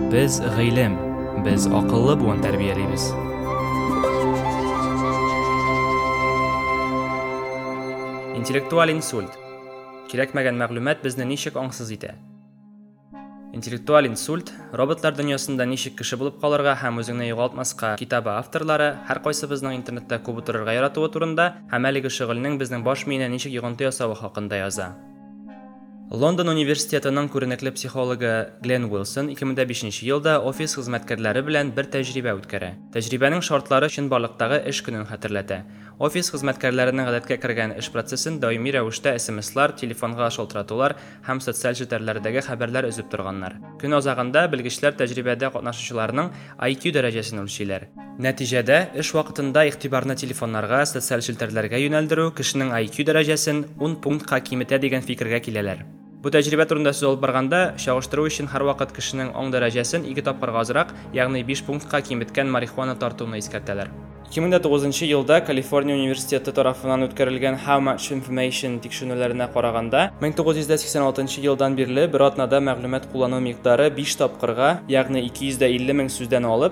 Biz g'ilm, biz aqlli bugun tarbiyalaymiz. Intellektual insult. Kerakmagan ma'lumot bizni nechik ongsiz etadi. Intellektual insult robotlar dunyosida nechik kishi bo'lib qolirga ham o'zingni yo'qotmasqa kitobi avtorlari har qaysi bizning internetda ko'p o'tirishga yaratib o'tirunda hamaligi shug'ulning bizning bosh miyani nechik yig'inti yasavi haqida yozadi. London universitetining ko'rinakli psixologi Glenn Wilson 2005-yilda ofis xizmatkorlari bilan bir tajriba o'tkazdi. Tajribaning shartlari shinborliqdagi ish kunini xatırlatadi. Ofis xizmatkorlarining odatga kirgan ish protsesini doimiy ravishda SMS-lar, telefonga sholtiratuvlar ham sotsial shetlarlardagi xabarlar uzib turganlar. Kun o'zag'ida bilgichlar tajribada qatnashuvchilarning IQ darajasini o'lchaylar. Natijada ish vaqtida e'tiborni telefonlarga, sotsial shetlarga yo'naltiruv kishining IQ darajasini 10 punktga kamaytiradi degan fikrga keladilar. Bu tajriba turida so'z olib borganda, shog'ishtiruv uchun har vaqt kishining ong darajasini 2 topqirga ozroq, ya'ni 5 punktga kamaytgan marixuana tortuvini eskartadilar. 2009-yilda Kaliforniya universiteti tomonidan o'tkazilgan How Much Information tekshiruvlariga qaraganda, 1986-yildan beri bir otnada ma'lumot qo'llanuv miqdori 5 topqirga, ya'ni 250 ming so'zdan olib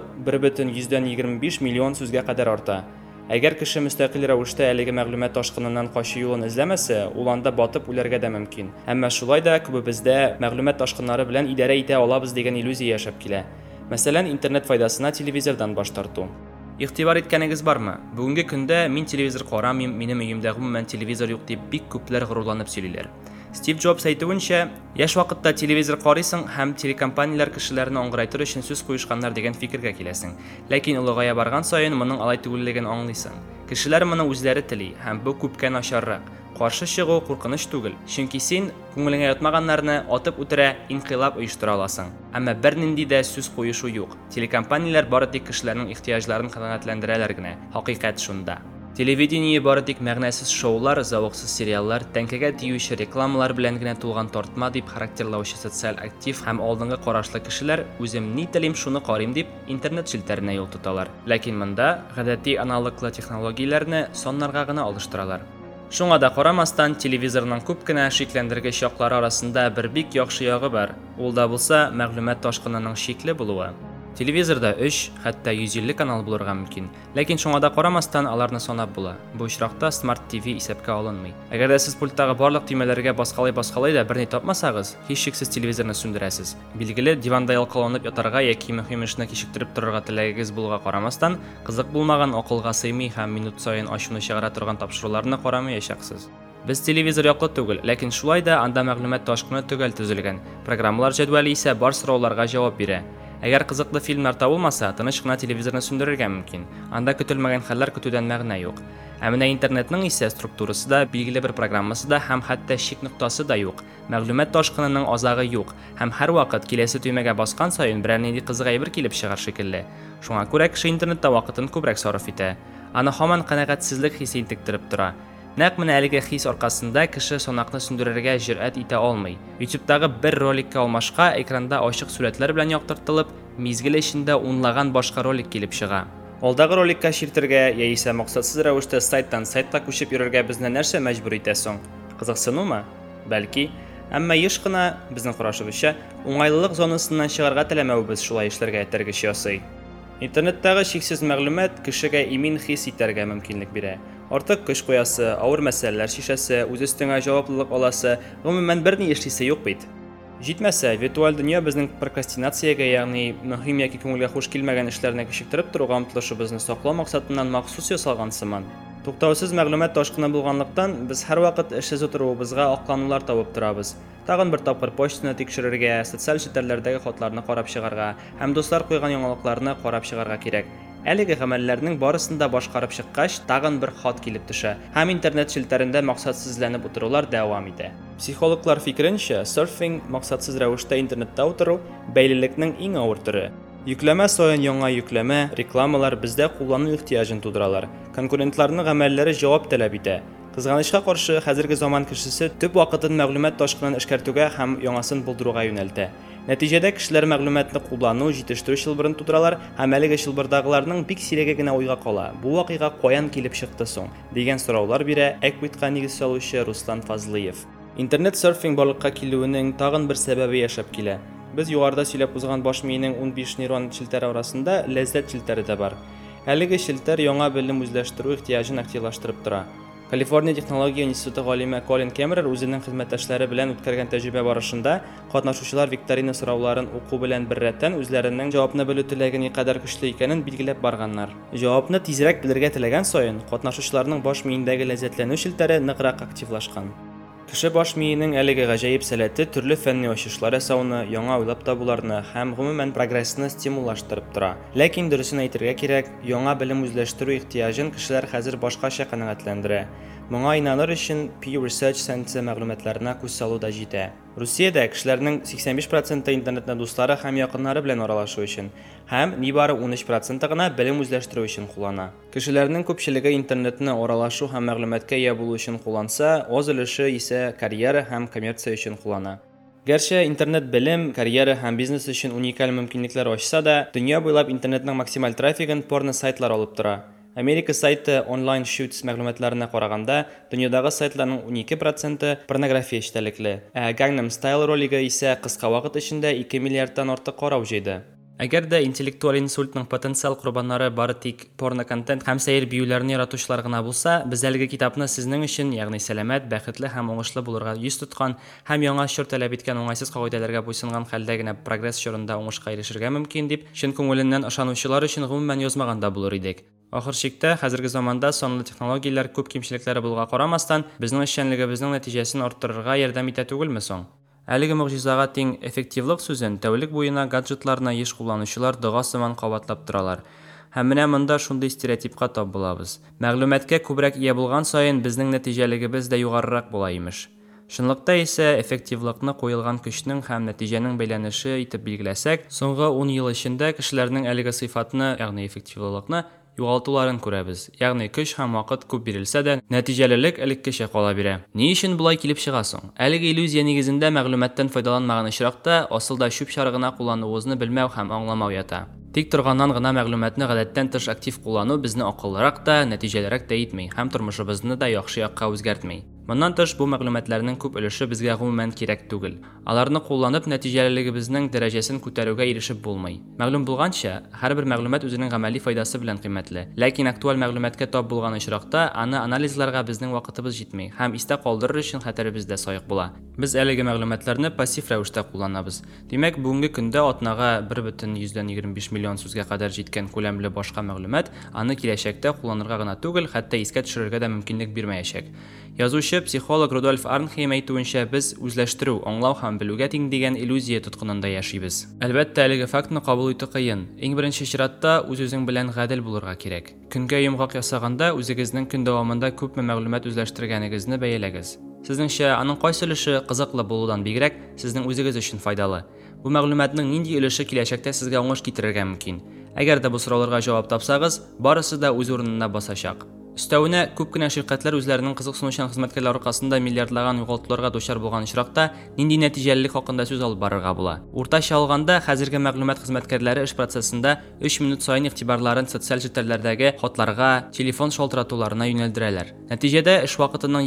1,125 million so'zga qadar ortadi. Agar kishi mustaqil ravishda haligi ma'lumot toshqinidan qochish yo'lini izlamasa, ulanda botib ularga da mumkin. Ammo shulayda ko'p bizda ma'lumot toshqinlari bilan idora eta olamiz degan illyuziya yashab keladi. Masalan, internet foydasini televizordan bosh tortuv. E'tibor etganingiz bormi? Bugungi kunda men televizor ko'ramayman, mening uyimda umuman televizor yo'q deb bek ko'plar g'ururlanib сөйлилер. Steve Jobs aytgancha, yosh vaqtda televizor qaraysan ham telekompaniyalar kishilarni o'ng'raytirish uchun so'z qo'yishganlar degan fikrga kelasan. Lekin ulg'aya borgan sayin buning alaytug'ligini anglaysan. Kishilar buni o'zlari tili ham bu ko'pga nasharroq. Qarshi shig'u qo'rqinish tug'il. Chunki sen ko'ngilingga yotmaganlarni otib o'tira, inqilob uyushtira olasan. Ammo bir nindida so'z qo'yishi yo'q. Telekompaniyalar boradik kishilarning ehtiyojlarini qanoatlantirarlargina. Haqiqat shunda. Televideniye boradik ma'nosiz shoular, zavqsiz seriallar, tankaga teguvchi reklamalar bilangina to'lgan tortma deb xarakterlovchi sotsial aktiv ham oldingi qarashli kishilar o'zim nitalim shuni qarayim deb internet shiltarini yo'l tutalar. Lekin bunda g'adatiy analogli texnologiyalarni sonlarg'ag'ina olishtiralar. Shunga da qaramasdan televizorning ko'pgina sheklantirgich yoqlari orasida bir bek yaxshi yog'i bor. Ulda bo'lsa ma'lumot toshqinining shekli bo'luvi. Televizorda 3, hatto 150 kanal bo'lirga mumkin. Lekin shunga da qaramasdan ularni sanab bo'ladi. Bu ishroqda Smart TV hisobga olinmaydi. Agarda siz pultdagi barliq tugmalarga bosqalay-bosqalayda birni topmasangiz, hech shaksiz televizorni sundirasiz. Bilgili divanda yolqalanib yotarga yoki muhim ishni kechiktirib turarga tilagingiz bo'lga qaramasdan, qiziq bo'lmagan aqlga sig'may ham minut sayin oshuni shag'ira turgan topshiriqlarni qaramay yashaqsiz. Biz televizor yoqli tug'il, lekin shulayda anda ma'lumot toshqini tugal tuzilgan. Programmalar jadvali esa bor savollarga javob beradi. Agar qiziqli filmlar topilmasa, tinchgina televizorni sundirishga mumkin. Anda kutilmagan hollar kutuvdan ma'no yo'q. Ammo internetning esa strukturasida, belgili bir programmasida ham hatto shik nuqtasida yo'q. Ma'lumot toshqinining ozag'i yo'q. Ham har vaqt kelasi tugmaga bosgan sayin biror nindi qiziq ayb kelib chiqar shekilli. Shunga ko'ra kishi internetda vaqtini ko'proq sarf etadi. Ana hamon qanoatsizlik hissi intiktirib turadi. Naq mana haligi his orqasida kishi so'naqni sundirishga jur'at eta olmaydi. YouTube'dagi bir rolikka olmashqa ekranda ochiq suratlar bilan yoqtirtilib, mezgil ishida o'nlagan boshqa rolik kelib chiqadi. Oldagi rolikka shirtirga yoki maqsadsiz ravishda saytdan saytga ko'chib yurarga bizni narsa majbur etasan? Qiziqsinmi? Balki, ammo yoshqina bizning qarashimizcha o'ng'aylilik zonasidan chiqarga tilamay biz shulay ishlarga targ'ish yasay. Internetdagi cheksiz ma'lumot kishiga imin his etarga mumkinlik beradi. Ortiq kuch qo'yasi, og'ir masalalar shishasi, o'z ustiga javoblik olasi, umuman bir nima ishlasa yo'q bit. Yetmasa, virtual dunyo bizning prokrastinatsiyaga, ya'ni muhim yoki ko'ngilga xush kelmagan ishlarni kechiktirib turgan umtilishimizni saqlash maqsadidan maxsus yasalgan siman. To'xtovsiz ma'lumot toshqini bo'lganlikdan biz har vaqt ishsiz o'tirishimizga oqlanuvlar topib turamiz. Tag'in bir topqir pochtani tekshirishga, sotsial shetlarlardagi xotlarni qarab chiqarga, ham do'stlar qo'ygan yangiliklarni qarab chiqarga kerak. Haligi amallarning borisida boshqarib chiqqach, tag'in bir xot kelib tusha. Ham internet shiltarida maqsadsizlanib o'tiruvlar davom etadi. Psixologlar fikrincha, surfing maqsadsiz ravishda internetda o'tiruv baylilikning eng og'ir turi. Yükleme so'yin yangi yükleme, reklamalar bizda qo'llanuv ehtiyojini tug'diradilar. Konkurentlarning amallari javob talab etadi. Qizg'anishga qarshi hozirgi zamon kishisi tub vaqtini ma'lumot toshqinini ishkartuga ham yangisini bildiruvga yo'naldi. Natijada kishilar ma'lumotni qo'llanuv, yetishtirish shilbirini tudralar, amaliga shilbirdagilarning bik siragagina o'yga qola. Bu voqea qo'yan kelib chiqdi so'ng degan so'rovlar bera Equitga neg'iz soluvchi Ruslan Fazliyev. Internet surfing borliqqa keluvining tag'in bir sababi yashab keladi. Biz yuqorida сөйләп узган баш миенең 15 нейрон челтәре арасында ләззәт челтәре дә бар. Әлеге челтәр яңа белем үзләштерү ихтияҗын активлаштырып тора. Калифорния технология институты галиме Колин Кемерер үзенең хезмәттәшләре белән үткәргән тәҗрибә барышында катнашучылар викторина сорауларын уку белән бер рәттән үзләренең җавапны белү теләге никадәр көчле икәнен билгеләп барганнар. Җавапны тизрәк белергә теләгән саен, катнашучыларның баш миендәге ләззәтләнү челтәре ныграк активлашкан. Кеше баш миенең әлеге гаҗәеп сәләте төрле фәнни ачышлар ясауны, яңа уйлап табуларны һәм гомумән прогрессны стимуллаштырып тора. Ләкин дөресен әйтергә кирәк, яңа белем үзләштерү ихтияҗын кешеләр хәзер башкача канәгатьләндерә. Моңа инаныр өчен Pew Research Center мәгълүматларына күз салу да җитә. Русиядә кешеләрнең 85% интернетны дуслары һәм якыннары белән аралашу өчен, һәм нибары 13% гына белем үзләштерү өчен куллана. Кешеләрнең күпчелеге интернетны аралашу һәм мәгълүматкә ия булу өчен кулланса, аз өлеше исә карьера һәм коммерция өчен куллана. Гәрчә интернет белем, карьера һәм бизнес өчен уникаль мөмкинлекләр ачса да, дөнья буйлап интернетның максималь трафигын порно сайтлар алып тора. Америка сайты Online Shoots мәгълүматларына караганда, дөньядагы сайтларның 12% порнография эчтәлекле, ә Gangnam Style ролиге исә кыска вакыт эчендә 2 миллиардтан артык карау җыйды. Әгәр дә интеллектуаль инсультның потенциал курбаннары бары тик порно-контент һәм сәер биюләрне яратучылар гына булса, без әлеге китапны сезнең өчен, ягъни сәламәт, бәхетле һәм уңышлы булырга йөз тоткан һәм яңа чор таләп иткән уңайсыз кагыйдәләргә буйсынган хәлдә генә прогресс чорында уңышка ирешергә мөмкин дип, чын күңеленнән ышанучылар өчен гомумән язмаганда булыр идек. Ахыр чиктә, хәзерге заманда санлы технологияләр күп кимчелекләре булуга карамастан, безнең эшчәнлегебезнең нәтиҗәсен арттырырга ярдәм итә түгелме соң? Әлеге мөгъҗизага тиң эффективлык сүзен тәүлек буена гаджетларны еш кулланучылар дога сыман кабатлап торалар. Һәм менә монда шундый стереотипка тап булабыз. Мәгълүматкә күбрәк ия булган саен безнең нәтиҗәлегебез дә югарырак була имеш. Шунлыкта исә эффективлыкны куелган көчнең һәм нәтиҗәнең бәйләнеше итеп билгеләсәк, соңгы 10 ел эчендә кешеләрнең әлеге сыйфатны, ягъни эффективлыкны югалтуларын күрәбез. Ягъни көч һәм вакыт күп бирелсә дә, нәтиҗәлелек элеккечә кала бирә. Ни өчен булай килеп чыга соң? Әлеге иллюзия нигезендә мәгълүматтан файдаланмаган очракта асылда чүп чарыгына куллануыбызны белмәү һәм аңламау ята. Тик торганнан гына мәгълүматны гадәттән тыш актив куллану безне акыллырак та, нәтиҗәлерәк тә итми һәм тормышыбызны да яхшы якка үзгәртми. Моннан тыш бу мәгълүматларның күп өлеше безгә гомумән кирәк түгел. Аларны кулланып нәтиҗәлелегебезнең дәрәҗәсен күтәрүгә ирешеп булмый. Мәгълүм булганча, һәрбер мәгълүмат үзенең гамәли файдасы белән кыйммәтле. Ләкин актуаль мәгълүматкә тап булган очракта аны анализларга безнең вакытыбыз җитми һәм истә калдырыр өчен хәтеребез дә саек була. Без әлеге мәгълүматларны пассив рәвештә кулланабыз. Димәк, бүгенге көндә атнага 1,25 миллион сүзгә кадәр җиткән күләмле башка мәгълүмат аны киләчәктә кулланырга гына түгел, хәтта искә төшерергә дә мөмкинлек бирмәячәк. Язучы психолог Рудольф Арнхейм әйтүенчә, без үзләштерү, аңлау һәм белүгә тиң дигән иллюзия тоткынында яшибез. Әлбәттә, әлеге фактны кабул итү кыен. Иң беренче чиратта үз-үзең белән гадел булырга кирәк. Көнгә йомгак ясаганда үзегезнең көн дәвамында күпме мәгълүмат үзләштергәнегезне бәяләгез. Сезнеңчә, аның кайсы өлеше кызыклы булудан бигрәк сезнең үзегез өчен файдалы? Бу мәгълүматның нинди өлеше киләчәктә сезгә уңыш китерергә мөмкин? Әгәр дә бу сорауларга җавап тапсагыз, барысы да үз урынына басачак. Өстәвенә, күп кенә ширкәтләр үзләренең кызыксынучан хезмәткәрләр аркасында миллиардлаган югалтуларга дучар булган очракта нинди нәтиҗәлелек хакында сүз алып барырга була. Уртача алганда, хәзерге мәгълүмат хезмәткәрләре эш процессында 3 минут саен игътибарларын социаль челтәрләрдәге хатларга, телефон шалтыратуларына юнәлдерәләр. Нәтиҗәдә эш вакытының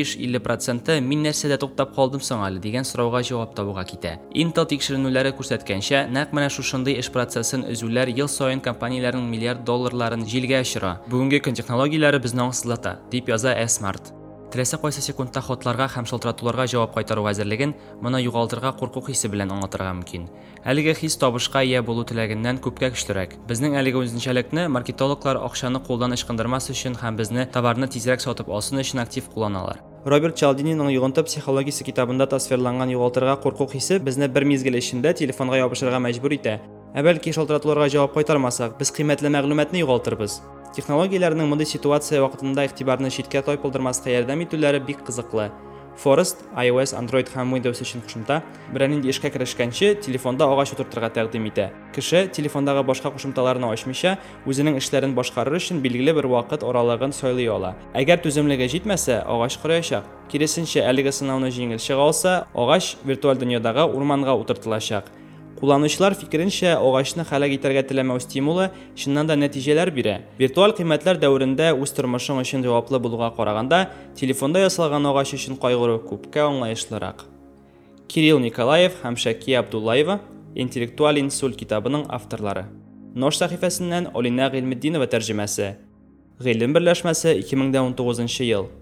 25-50% мин нәрсәдә туктап калдым соң әле дигән сорауга җавап табуга китә. Intel тикшеренүләре күрсәткәнчә, нәкъ менә шушындый эш процессын өзүләр ел саен компанияләрнең миллиард долларларын җилгә очыра. Бүгенге көн технологияләре безне аңсызлата, дип яза Smart. Теләсә кайсы секундта хатларга һәм шалтыратуларга җавап кайтаруга әзерлеген моны югалтырга курку хисе белән аңлатырга мөмкин. Әлеге хис табышка ия булу теләгеннән күпкә көчлерәк. Безнең әлеге үзенчәлекне маркетологлар акчаны кулдан ычкындырмас өчен һәм безне товарны тизрәк сатып алсын өчен актив кулланалар. Роберт Чалдининың йогынты психологиясе китабында тасвирланган югалтырга курку хисе безне бер мизгел эчендә телефонга ябышырга мәҗбүр итә. Бәлки шалтыратуларга җавап кайтармасак, без кыйммәтле мәгълүматны югалтырбыз. Технологияләрнең мондый ситуация вакытында игътибарны читкә тайпылдырмаска ярдәм итүләре бик кызыклы. Forest, iOS, Android һәм Windows өчен кушымта берәр нинди эшкә керешкәнче телефонда агач утыртырга тәкъдим итә. Кеше телефондагы башка кушымталарны ачмыйча үзенең эшләрен башкарыр өчен билгеле бер вакыт аралыгын сайлый ала. Әгәр түземлеге җитмәсә, агач кырыячак. Киресенчә, әлеге сынауны җиңел чыга алса, агач виртуаль дөньядагы урманга утыртылачак. Кулланучылар фикеренчә, агачны һәлак итәргә теләмәү стимулы чыннан да нәтиҗәләр бирә. Виртуаль кыйммәтләр дәверендә үз тормышың өчен җаваплы булуга караганда, телефонда ясалган агач өчен кайгыру күпкә аңлаешлырак. Кирилл Николаев һәм Шәки Абдуллаева Интеллектуаль инсульт китабының авторлары. Нож сәхифәсеннән Алина Гыйльметдинова тәрҗемәсе. Гыйлем берләшмәсе 2019 ел.